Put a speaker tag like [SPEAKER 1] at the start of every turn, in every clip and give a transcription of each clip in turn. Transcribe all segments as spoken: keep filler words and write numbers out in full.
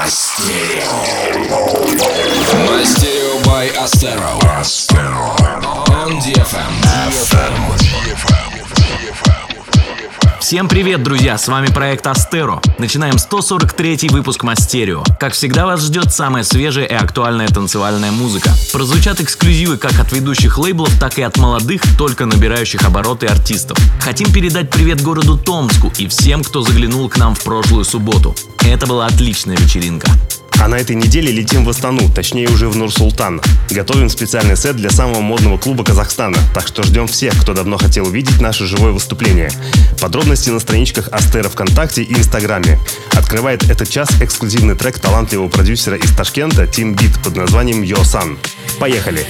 [SPEAKER 1] Мастерио by Astero. On ди эф эм.
[SPEAKER 2] Всем привет, друзья! С вами проект Astero. Начинаем сто сорок третий выпуск Мастерио. Как всегда, вас ждет самая свежая и актуальная танцевальная музыка. Прозвучат эксклюзивы как от ведущих лейблов, так и от молодых, только набирающих обороты артистов. Хотим передать привет городу Томску и всем, кто заглянул к нам в прошлую субботу. Это была отличная вечеринка.
[SPEAKER 3] А на этой неделе летим в Астану, точнее уже в Нур-Султан. Готовим специальный сет для самого модного клуба Казахстана, так что ждем всех, кто давно хотел увидеть наше живое выступление. Подробности на страничках Astero ВКонтакте и Инстаграме. Открывает этот час эксклюзивный трек талантливого продюсера из Ташкента Team Beat под названием Yo San. Поехали!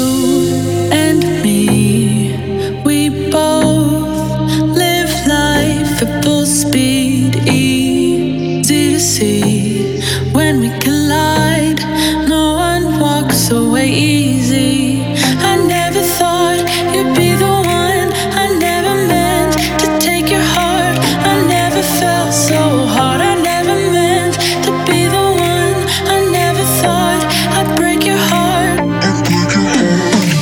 [SPEAKER 4] When we collide, no one walks away easy. I never thought you'd be the one. I never meant to take your heart. I never felt so hard. I never meant to be the one. I never thought I'd break your heart. I'd break your heart.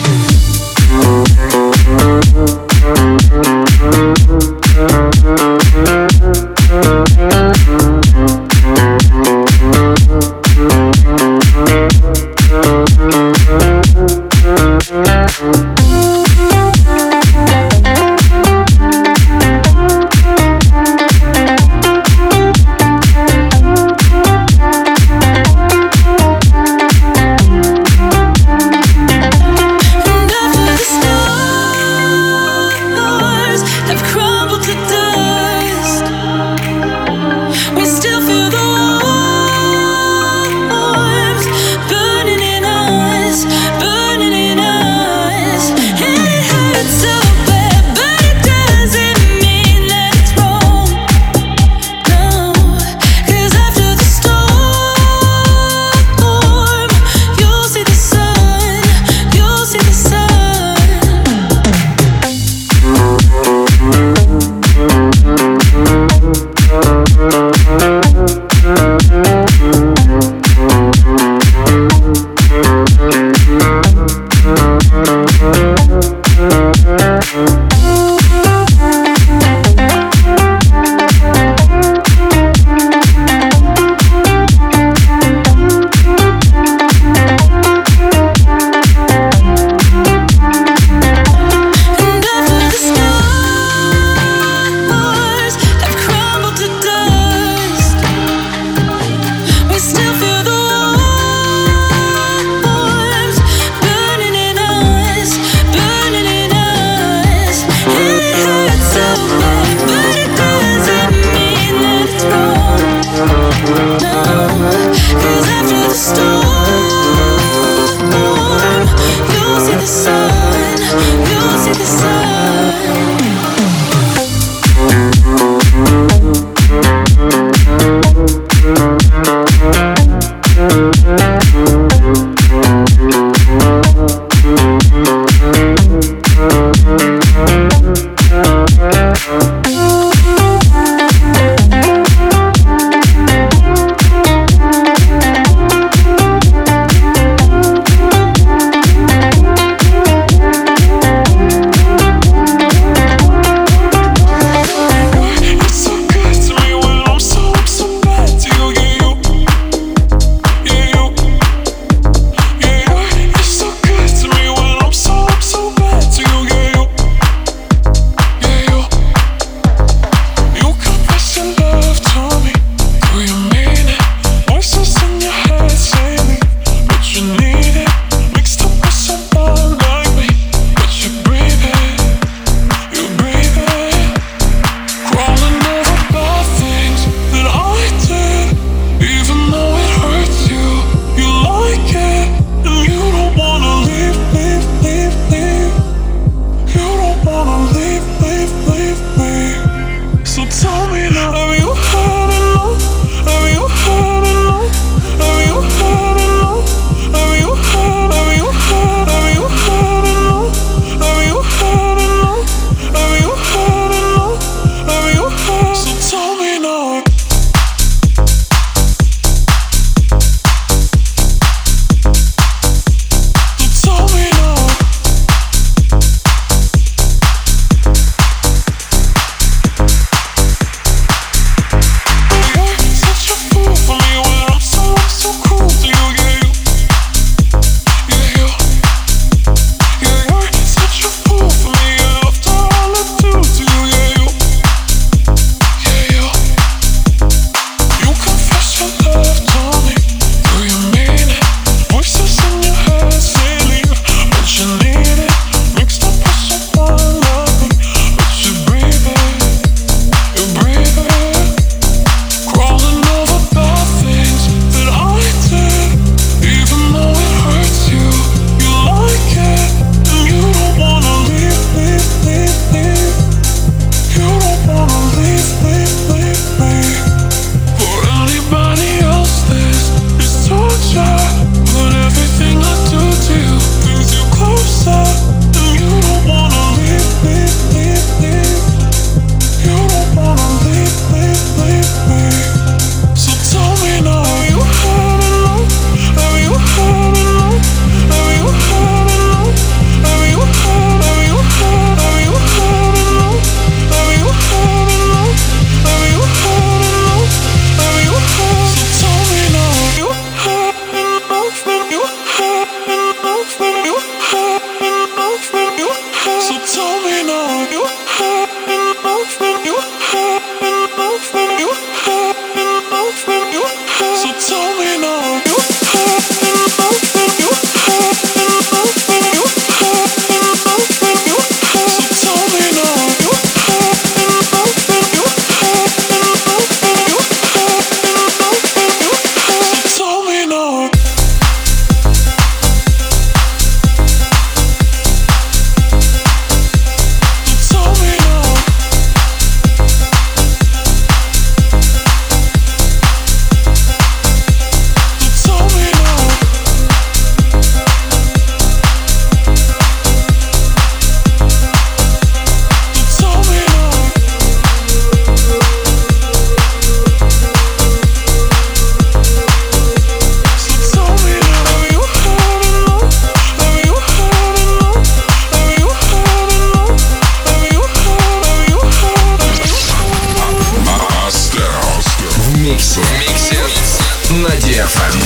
[SPEAKER 1] миксе. В миксе на ди эф эм.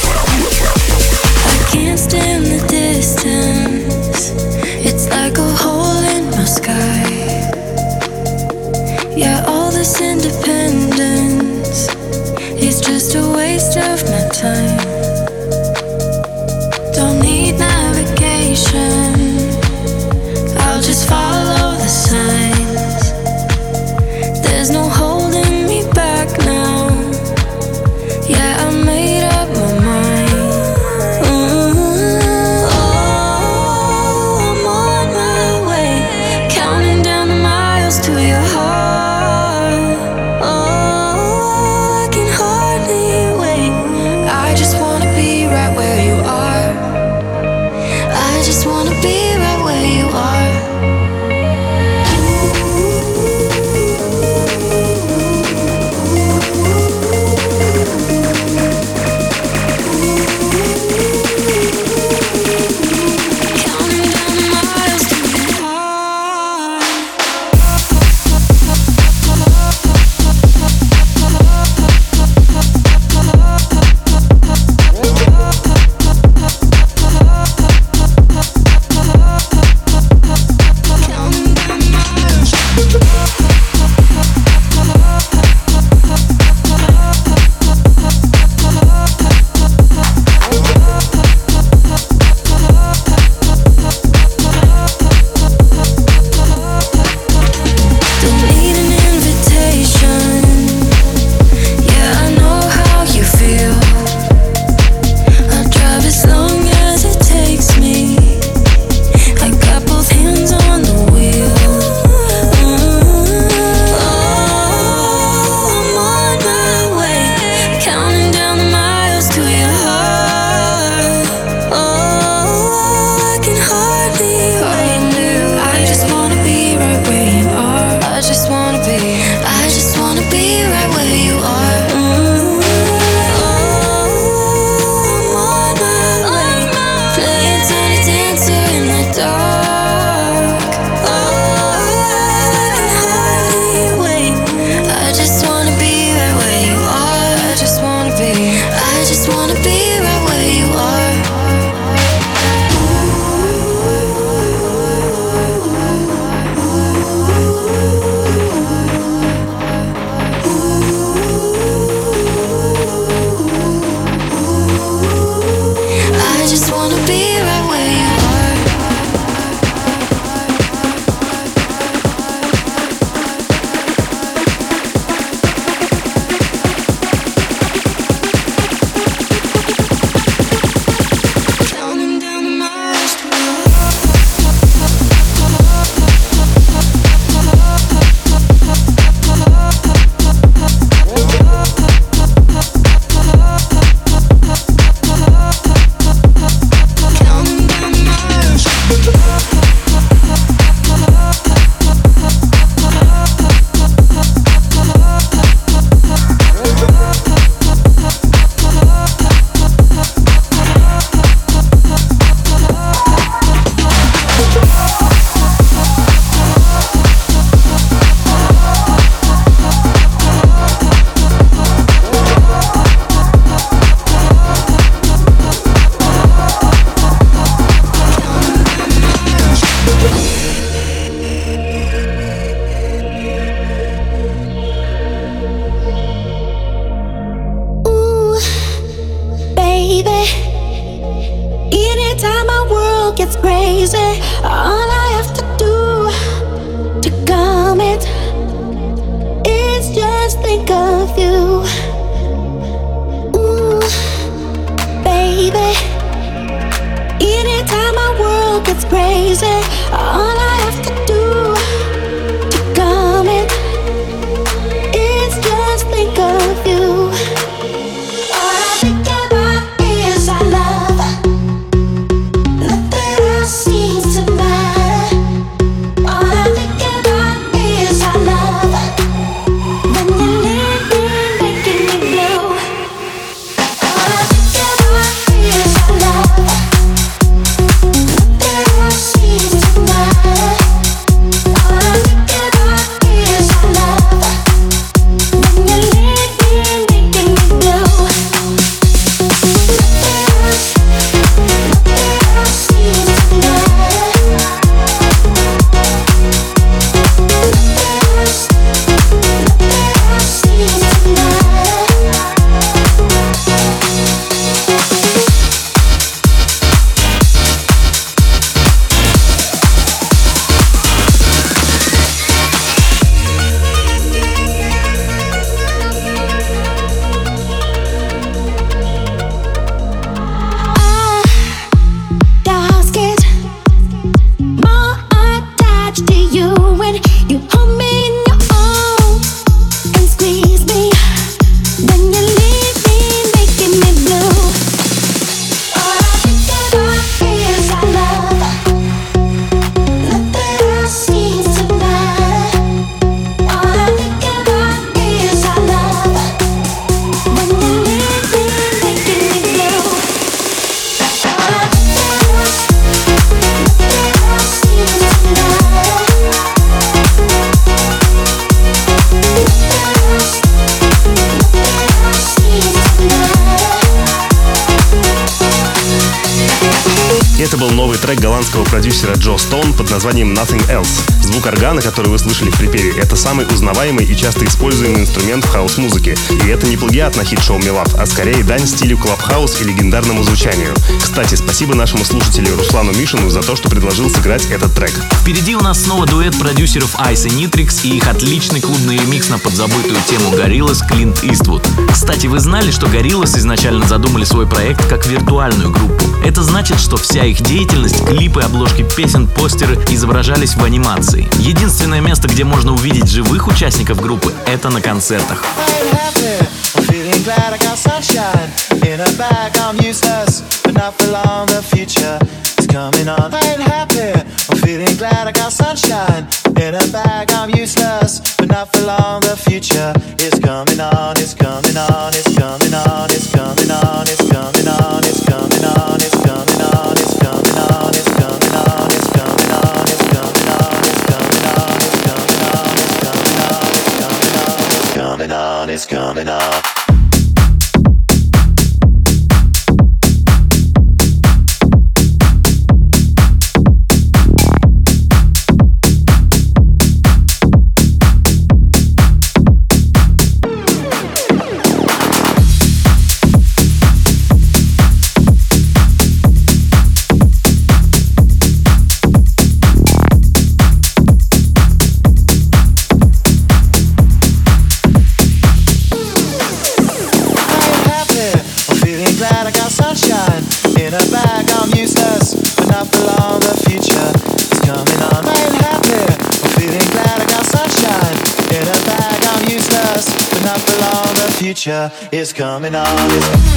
[SPEAKER 4] I can't stand the distance. It's like a hole in my sky. Yeah, all this independence is just a waste of my time. Don't need navigation, I'll just follow the signs. There's no holding me back now. Yeah, I made up my mind. Mm-hmm. Oh, I'm on my way, counting down the miles to your heart. Oh, I can hardly wait. I just wanna be right where you are. I just wanna be right where you are. Counting down the miles to your heart. Counting down the miles. Don't need an invitation. Yeah, I know how you feel. I'll drive as long as it takes me. I got both hands on the wheel. Mm-hmm. Oh, I'm on my way, counting down the miles to your heart. Oh, I can hardly wait. I just wanna be right where you are. I just wanna be, I just wanna be right where you are. Mm-hmm. Oh, I'm on my way, playing tiny dancer in the dark. Oh, I can hardly wait. I just wanna be right where you are. I just wanna be, I just wanna be right where you are. I just wanna be right where you are. Counting down the miles to your counting down the miles.
[SPEAKER 5] Ooh, baby. Anytime my world gets crazy, all I have to do to calm it is just think of you. Ooh, baby. Anytime my world gets crazy, all I have to do to calm it is just think of you. All I think about is our love. Nothing else seems to matter. All I think about is our love. When you leave me, making me blue. All I think about is our love. Nothing else seems to matter.
[SPEAKER 3] Это был новый трек голландского продюсера Джо Стоун под названием Nothing Else. Звук органа, который вы слышали в припеве, это самый узнаваемый и часто используемый инструмент в хаус-музыке. И это не плагиат на хит-шоу «Me Love», а скорее дань стилю клабхаус и легендарному звучанию. Кстати, спасибо нашему слушателю Руслану Мишину за то, что предложил сыграть этот трек.
[SPEAKER 2] Впереди у нас снова дуэт продюсеров Ice и Nitrix и их отличный клубный ремикс на подзабытую тему Gorillaz Клинт Иствуд. Кстати, вы знали, что Gorillaz изначально задумали свой проект как виртуальную группу? Это значит, что вся их деятельность, клипы, обложки песен, постеры изображались в анимации. Единственное место, где можно увидеть живых участников группы, это на концертах.
[SPEAKER 6] It's coming on. Future is coming on.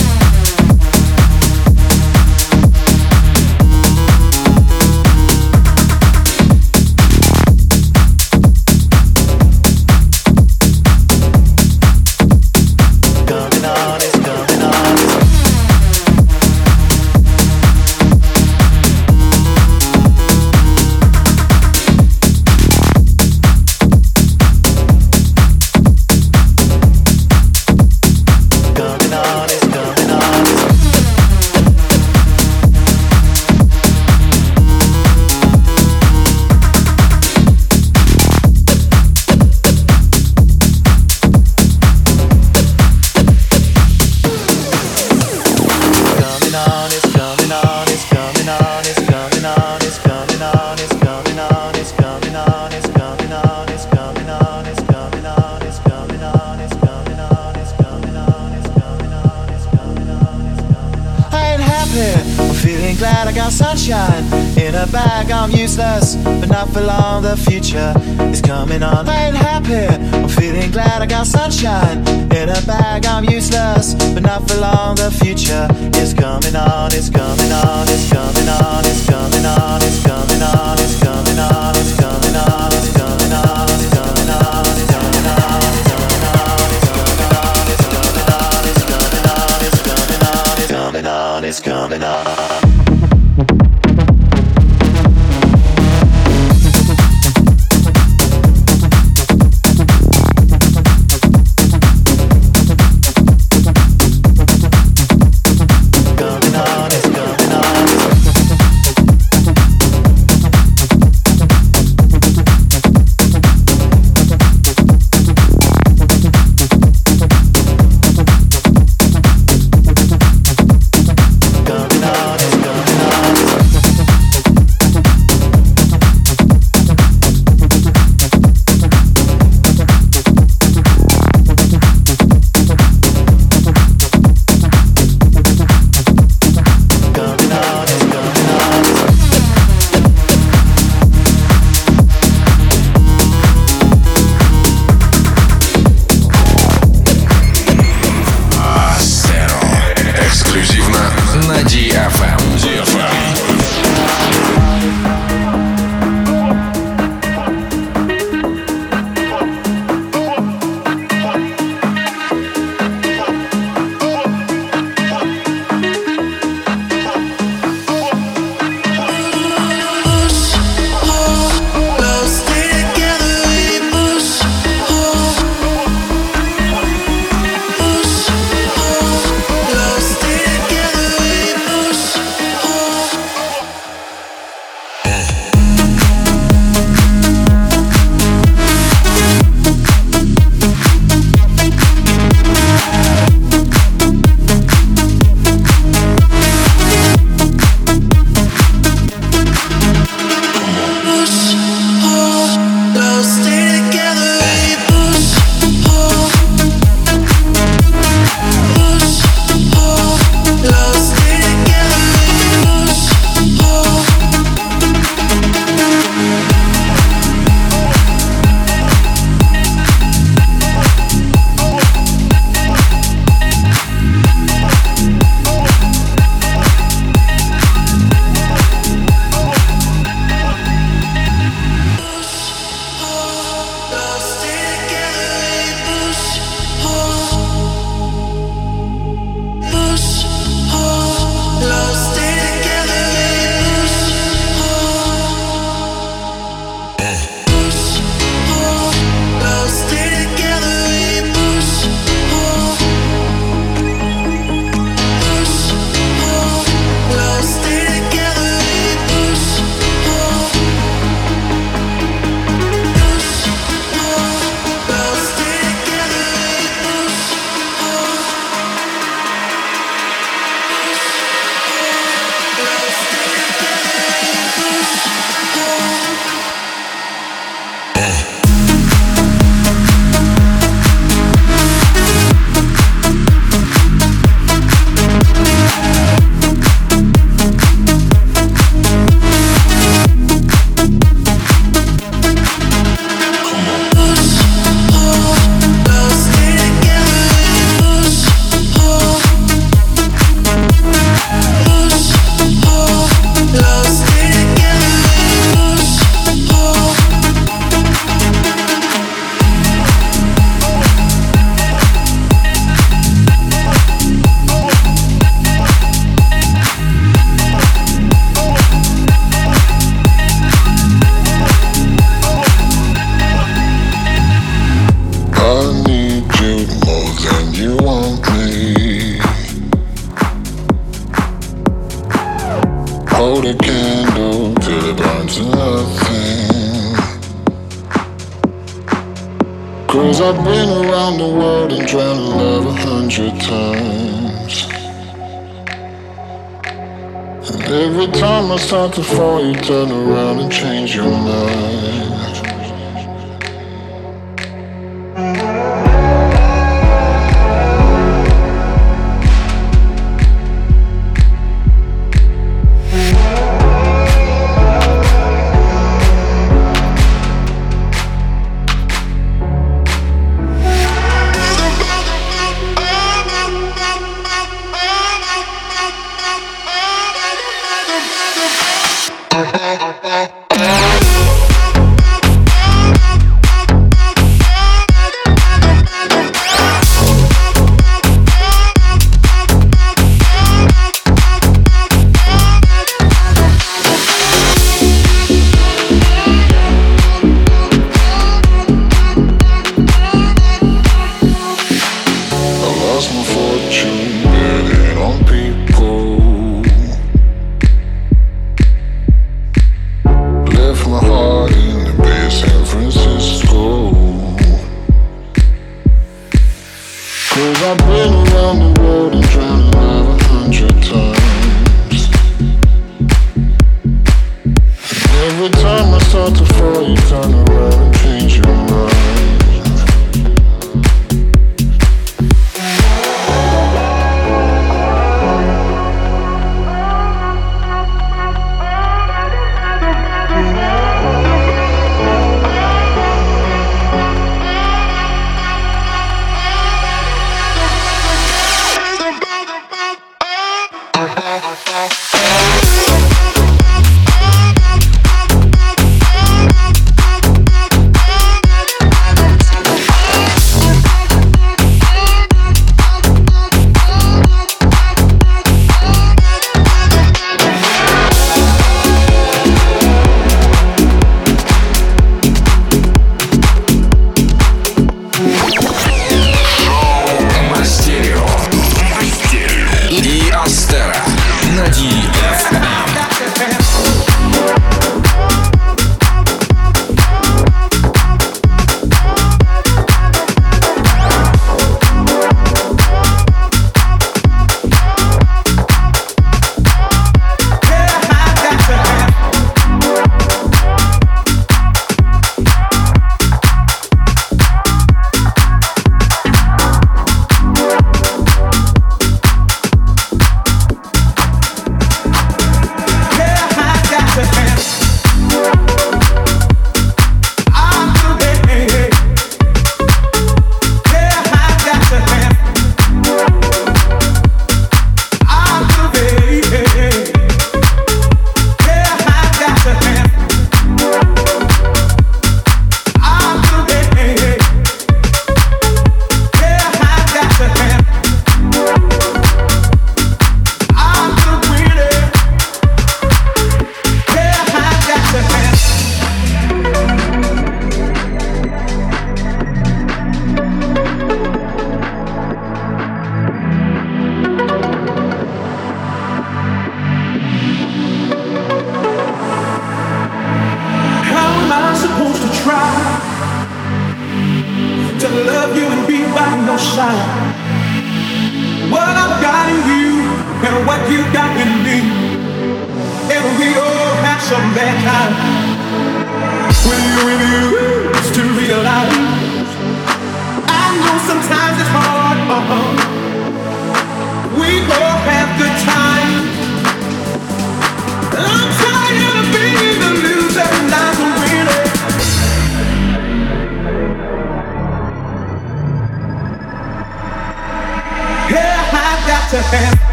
[SPEAKER 6] Glad I got sunshine in a bag. I'm useless, but not for long. The future is coming on. I ain't happy. I'm feeling glad I got sunshine in a bag. I'm useless, but not for long. The future is coming on. It's coming on. It's coming on. It's coming on. It's coming on. It's coming on. It's coming on. It's coming on. It's coming on. It's coming on. It's coming on. It's coming on. It's coming on. It's coming on. It's coming on. It's coming on.
[SPEAKER 7] want me. Hold a candle till it burns to nothing. Cause I've been around the world and drowned in love a hundred times. And every time I start to fall, you turn around and change your mind.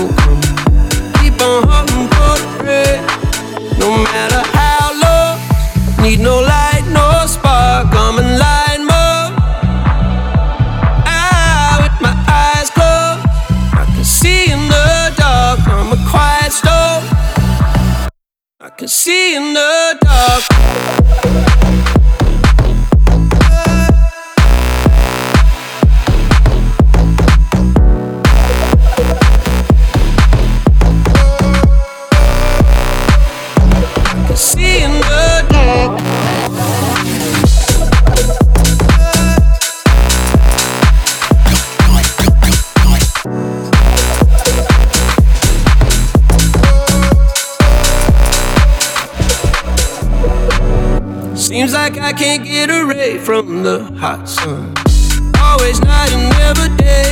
[SPEAKER 8] still come. Keep on hunting for the bread. No matter how low, need no light, no spark. Come and light me up. Ah, with my eyes closed, I can see in the dark. I'm a quiet storm. I can see in the dark. See in the dark. Seems like I can't get away from the hot sun. Always night and never day.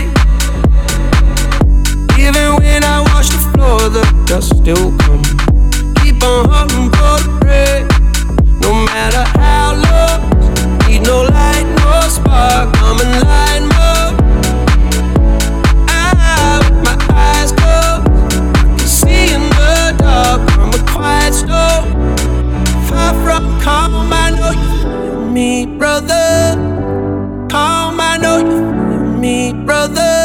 [SPEAKER 8] Even when I wash the floor, the dust still comes. Keep on hunting for the bread. No matter how low, need no light, no spark. Come and light me up. Ah, with my eyes closed, I can see in the dark. I'm a quiet storm. Far from calm, I know you feel me, brother. Calm, I know you feel me, brother.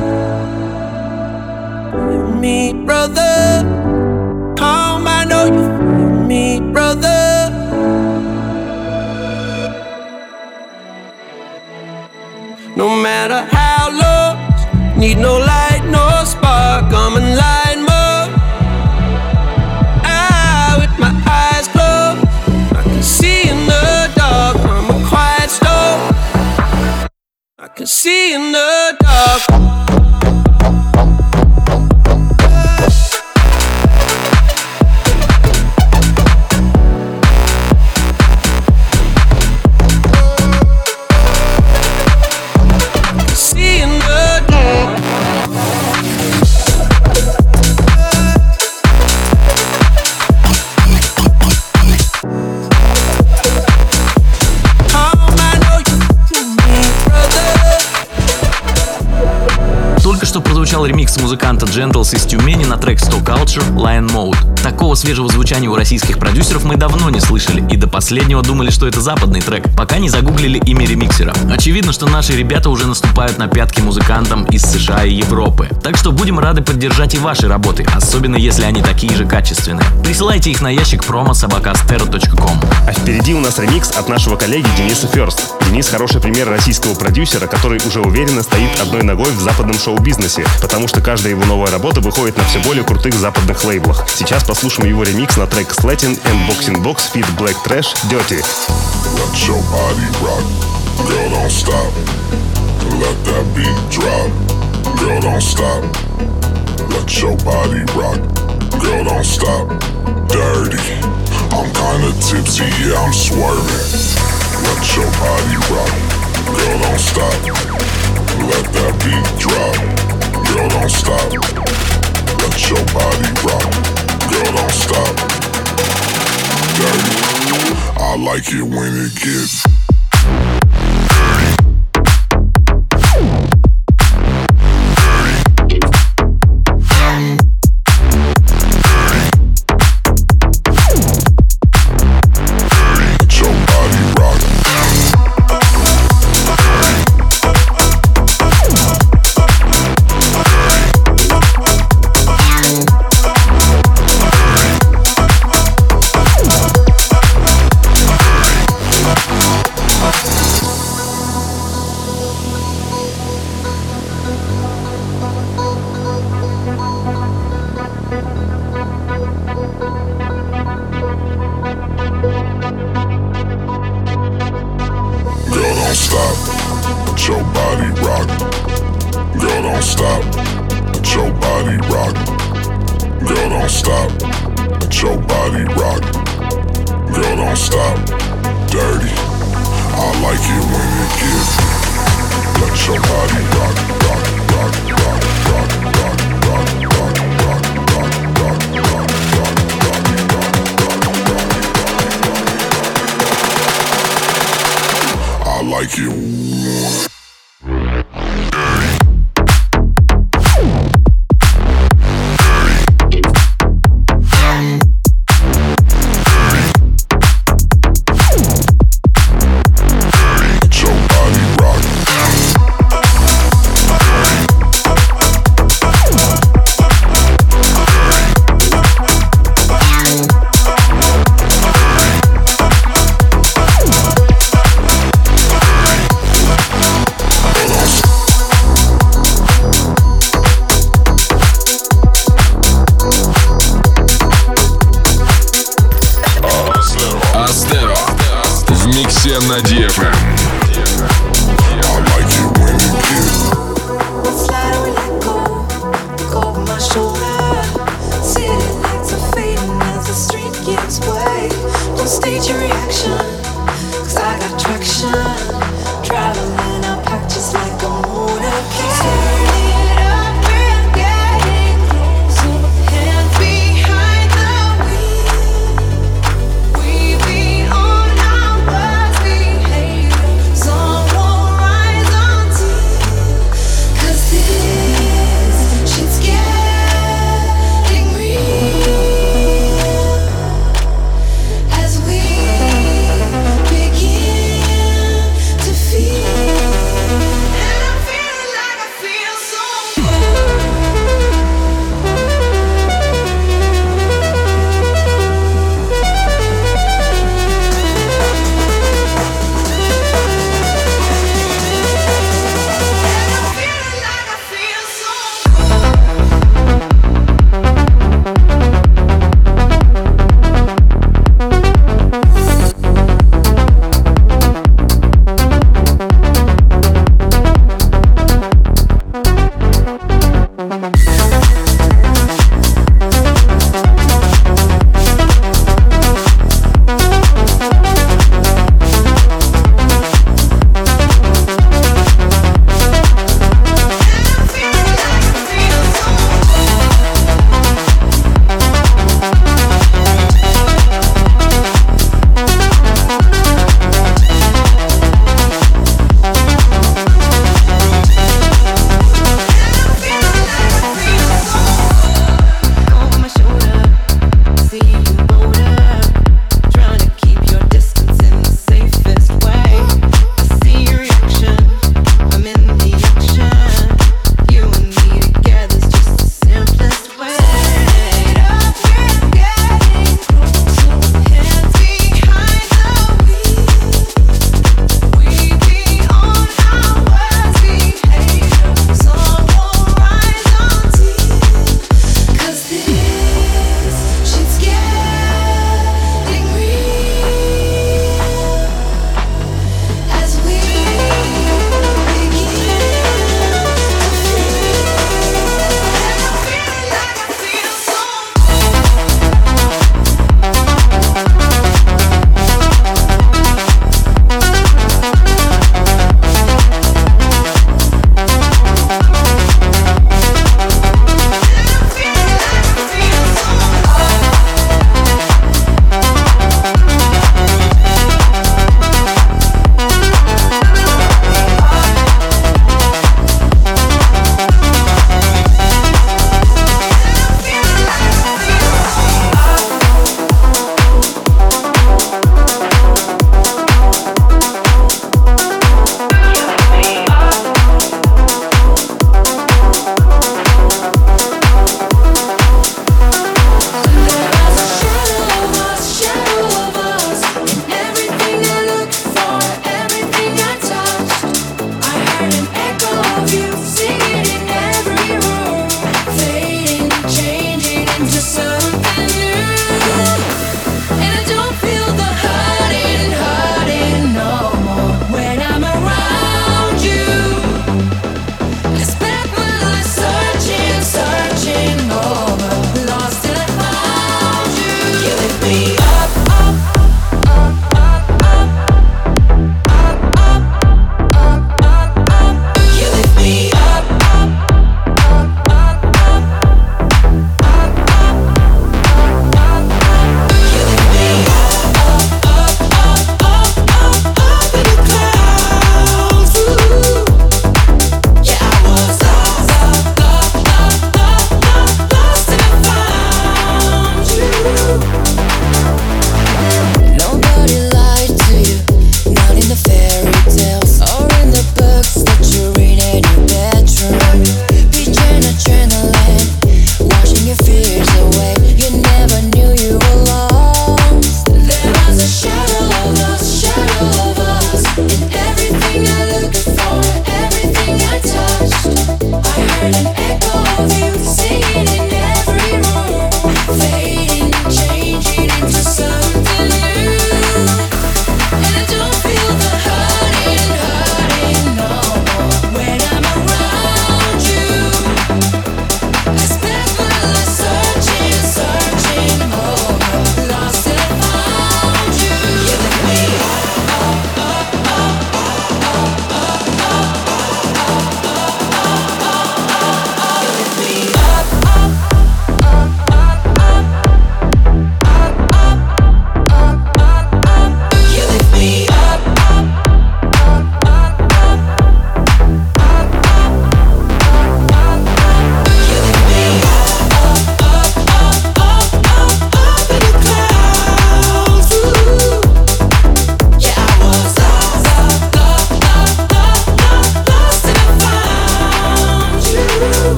[SPEAKER 8] Feel me, brother. Calm, I know you feel me, brother. No matter how low, need no light, no spark. Come and light me up. Ah, with my eyes closed, I can see in the dark. I'm a quiet storm. I can see in the dark.
[SPEAKER 2] Прозвучал ремикс музыканта Gentles из Тюмени на трек сто Culture Lion Mode. Такого свежего звучания у российских продюсеров мы давно не слышали и до последнего думали, что это западный трек, пока не загуглили имя ремиксера. Очевидно, что наши ребята уже наступают на пятки музыкантам из США и Европы. Так что будем рады поддержать и ваши работы, особенно если они такие же качественные. Присылайте их на ящик промо собака астero точка ком.
[SPEAKER 3] А впереди у нас ремикс от нашего коллеги Дениса First. Денис хороший пример российского продюсера, который уже уверенно стоит одной ногой в западном шоу-бизнесе, потому что каждая его новая работа выходит на все более крутых западных лейблах. Сейчас послушаем его ремикс на трек Slatin and Boxing Box feat. Black Trash Dirty.
[SPEAKER 7] Let your body rock, girl don't stop. Let that beat drop, girl don't stop. Let your body rock, girl don't stop. Dirty, I'm kinda tipsy, yeah I'm swerving. Let your body rock, girl don't stop. Let that beat drop, girl don't stop. Let your body rock, girl don't stop. Dirty, I like it when it gets like you. на ди эф эм. I like it when you give.
[SPEAKER 4] Slide we let go, go over my shoulder. City lights are fading as the street gives way. Don't stage your reaction, cause I got traction. Traveling up packed just like a motorcade. Turn it up, we're getting closer. Hands behind the wheel. We be on our worst behavior.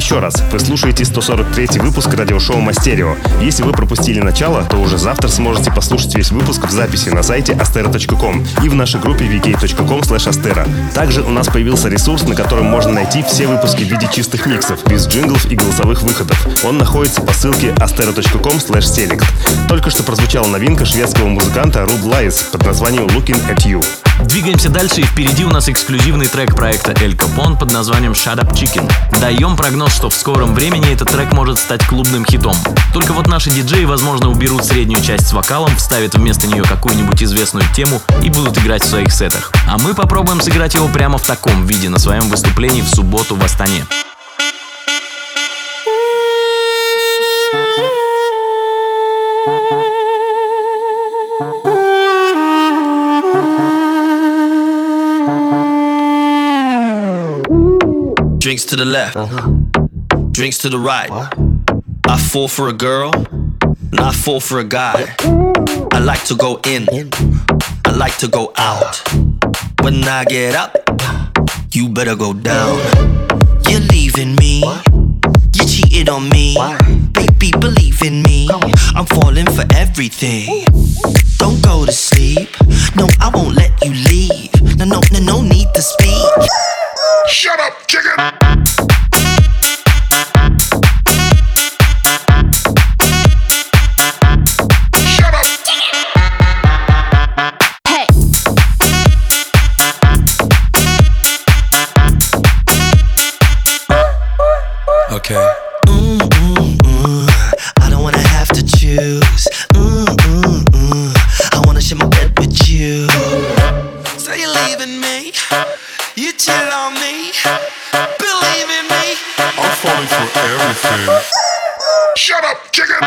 [SPEAKER 3] еще раз, вы слушаете сто сорок третий выпуск радиошоу Мастерио. Если вы пропустили начало, то уже завтра сможете послушать весь выпуск в записи на сайте astero точка ком и в нашей группе ви кей точка ком слэш astero. Также у нас появился ресурс, на котором можно найти все выпуски в виде чистых миксов, без джинглов и голосовых выходов. Он находится по ссылке astero точка ком слэш select. Только что прозвучала новинка шведского музыканта Rude Lies под названием Looking at You.
[SPEAKER 2] Двигаемся дальше, и впереди у нас эксклюзивный трек проекта Эль Капон под названием Shut Up Chicken. Даем прогноз, что в скором времени этот трек может стать клубным хитом. Только вот наши диджеи, возможно, уберут среднюю часть с вокалом, вставят вместо нее какую-нибудь известную тему и будут играть в своих сетах. А мы попробуем сыграть его прямо в таком виде на своем выступлении в субботу в Астане.
[SPEAKER 9] Drinks to the left, drinks to the right. I fall for a girl, and I fall for a guy. I like to go in, I like to go out. When I get up, you better go down. You're leaving me, you cheated on me. Baby, believe in me, I'm falling for everything. Don't go to sleep, no, I won't let you leave. No, no, no, no need to speak.
[SPEAKER 7] Shut up, chicken! Shut up!
[SPEAKER 5] Hey.
[SPEAKER 9] Okay. Mm, mm, mm. I don't wanna have to choose. Mm, mm, mm. I wanna share my bed with you. So you're leaving me, you chill on me. Believe in me,
[SPEAKER 7] I'm falling for everything. Shut up, chicken!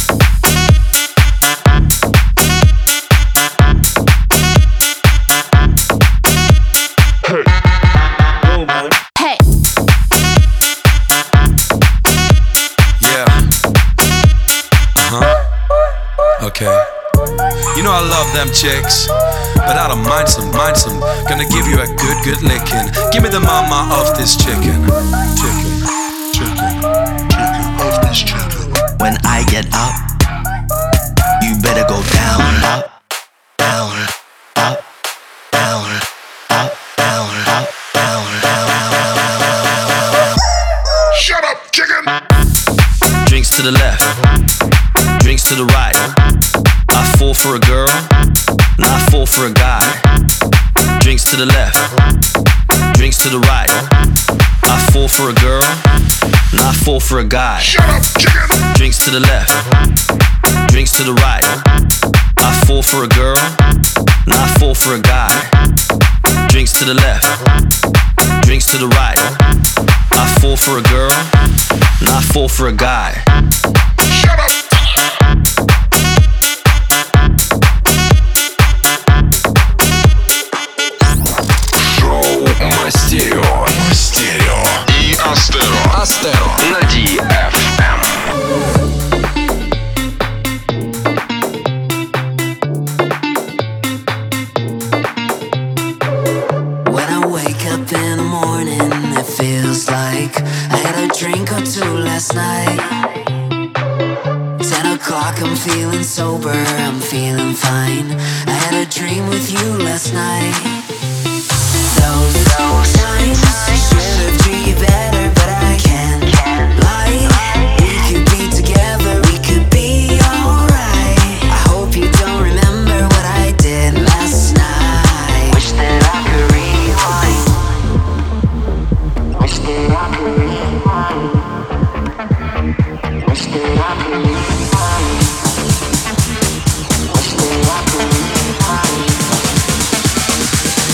[SPEAKER 7] Hey. Go, man.
[SPEAKER 5] Hey.
[SPEAKER 9] Yeah. Uh-huh. Okay. You know I love them chicks, but I don't mind some, mind some. Gonna give you a good, good licking. Give me the mama of this chicken. Chicken, chicken, chicken of this chicken. When I get up, you better go down, up, down, up, down, up, down, up, down, down, down, down, down.
[SPEAKER 7] Shut up, chicken!
[SPEAKER 9] Drinks to the left, drinks to the right. I fall for a girl, and I fall for a guy. Drinks to the left, drinks to the right. I fall for a girl, and I fall for a guy.
[SPEAKER 7] Shut up, chicken!
[SPEAKER 9] Drinks to the left, drinks to the right. I fall for a girl, and I fall for a guy. Drinks to the left, drinks to the right. I fall for a girl, and I fall for a guy.
[SPEAKER 7] Shut up!
[SPEAKER 1] Мастерио. Мастерио. И Астеро. Астеро. На ди эф эм.
[SPEAKER 10] When I wake up in the morning, it feels like I had a drink or two last night. Ten o'clock, I'm feeling sober, I'm feeling fine. I had a dream with you last night. Those, those times I should have treated you better, but I can't lie. We could be together, we could be alright. I hope you don't remember what I did last night. Wish that I could rewind. Wish that I could rewind. Wish that I could rewind. Wish that I could rewind.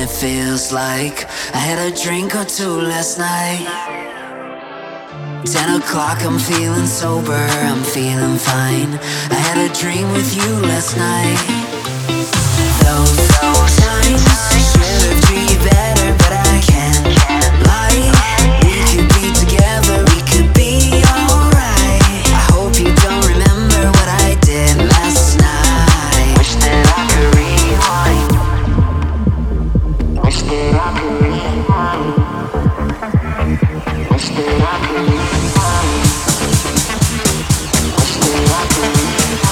[SPEAKER 10] it feels like I had a drink or two last night. Ten o'clock, I'm feeling sober, I'm feeling fine. I had a dream with you last night. Those, those times should have treated you better, but I can't lie. We could be together, we could be alright. I hope you don't remember what I did last night. Wish that I could rewind. Wish that I could rewind. Wish that I could rewind. Wish that I could rewind.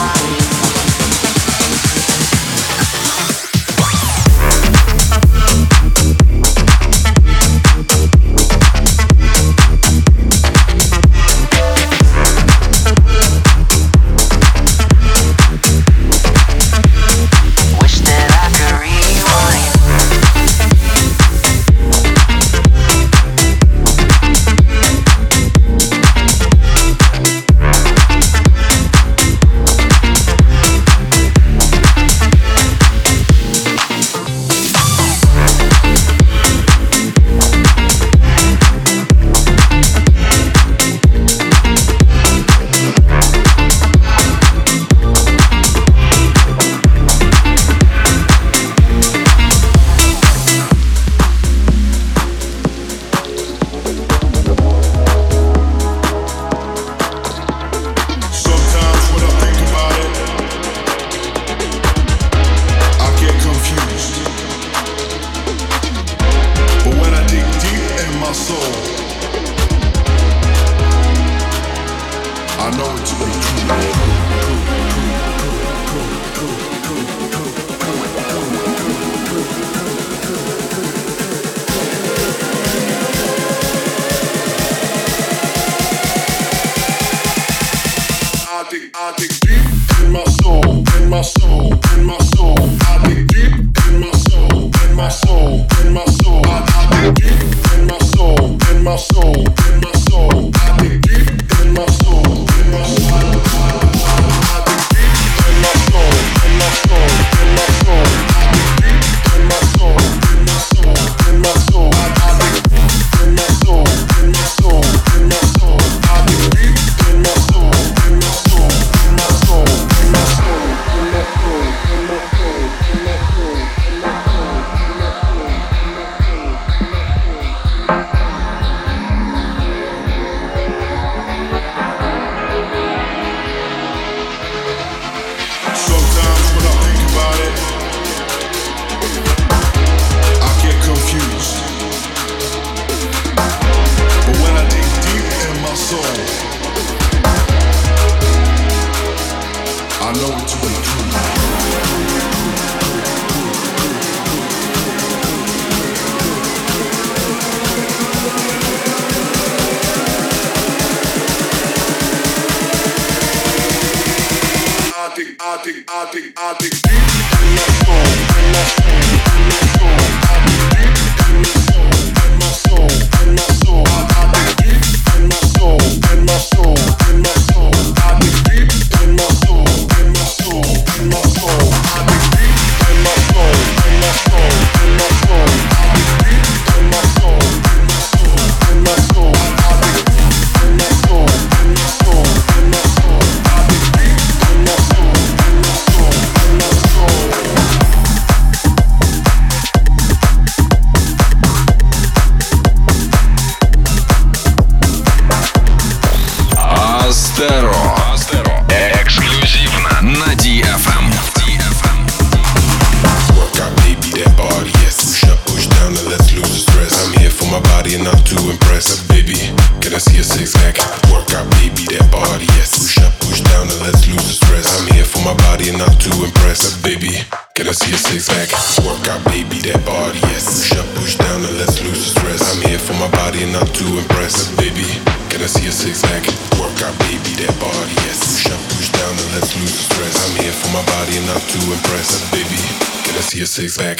[SPEAKER 7] Six pack.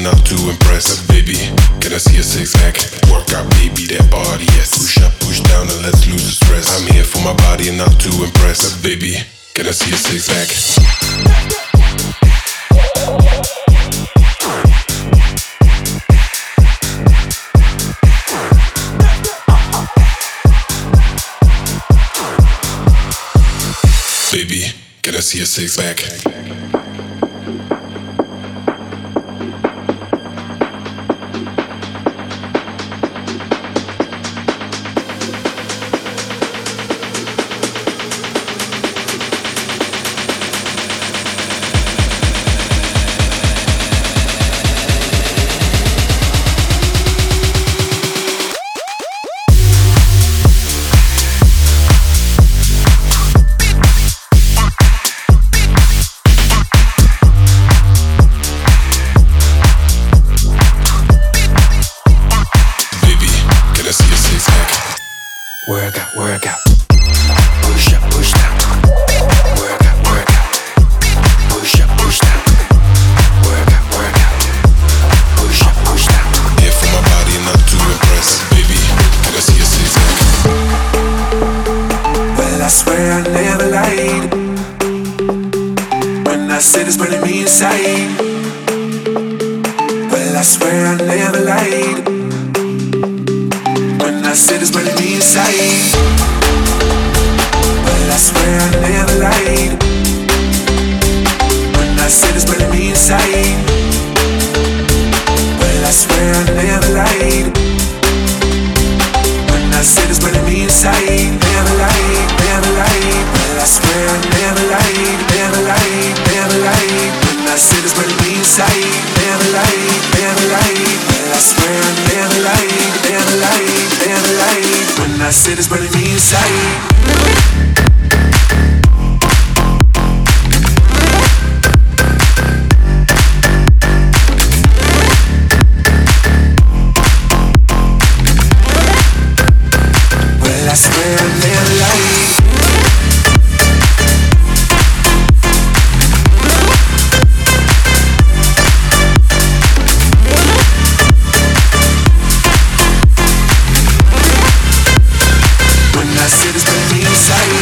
[SPEAKER 7] enough to impress. But baby, can I see a six pack? Work out, baby, that body, yes. Push up, push down, and let's lose the stress. I'm here for my body enough to impress. But baby, can I see a six pack? Baby, can I see a six pack?
[SPEAKER 8] Work out, work out. Push up, push down. Work out, work out. Push up, push down. Work out, work out. Push up, push down.
[SPEAKER 7] Here for my body enough to impress. Baby, can I see a six pack?
[SPEAKER 8] Well, I swear I never lied when I said it's burning me inside. Well, I swear I never lied when I said it's burning me inside. Well, I swear I never lied when I said it's burning me inside. Well, I swear I never lied when I said it's burning me inside. Never lied, never lied. Well, I swear I never lied, never lied, never lied when I said it's burning me inside. Never lied, never lied. Well, I swear I never lied, never lied, never lied when I said it's burning me inside. Well, I swear I never lied. When I said it's burning me inside.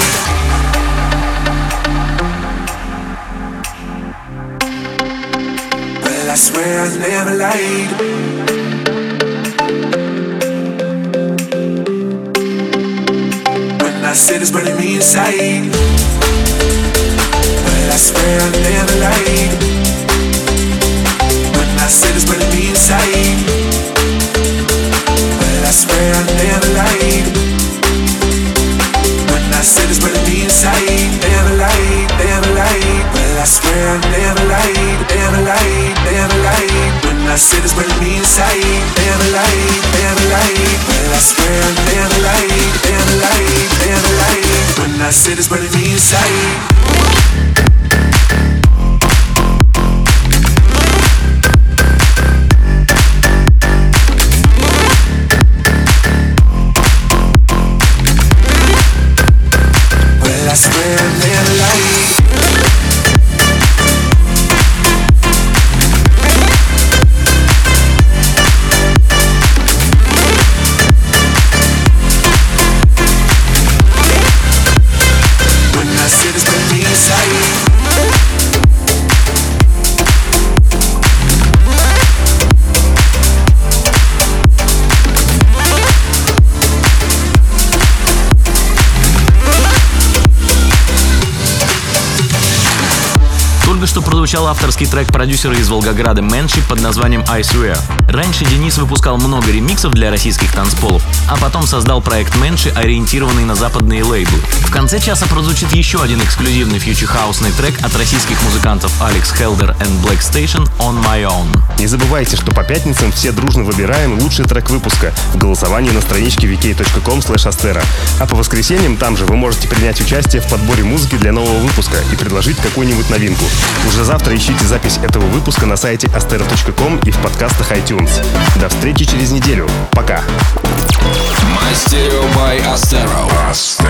[SPEAKER 8] Well, I swear I never lied. When I said it's burning me inside. Well, I swear I never lied. When I said it's burning me inside. Well, I swear I never lied. When I said it's burning me inside. Never lied, never lied. Well, I swear I never lied, never lied, never lied. When I said it's burning me inside. Never lied, never lied. Well, I swear I never lied, never lied, never lied. When I said it's burning me inside. I swear I never lied. When I said it's burning me inside.
[SPEAKER 2] Только что прозвучал авторский трек продюсера из Волгограда Менши под названием I Swear. Раньше Денис выпускал много ремиксов для российских танцполов, а потом создал проект Менши, ориентированный на западные лейблы. В конце часа прозвучит еще один эксклюзивный фьючер-хаусный трек от российских музыкантов Алекс Хелдер и Black Station On My Own.
[SPEAKER 3] Не забывайте, что по пятницам все дружно выбираем лучший трек выпуска в голосовании на страничке ви кей точка ком слэш астера. А по воскресеньям там же вы можете принять участие в подборе музыки для нового выпуска и предложить какую-нибудь новинку. Уже завтра ищите запись этого выпуска на сайте астера точка ком и в подкастах iTunes. До встречи через неделю. Пока.
[SPEAKER 1] My Stereo by Astero.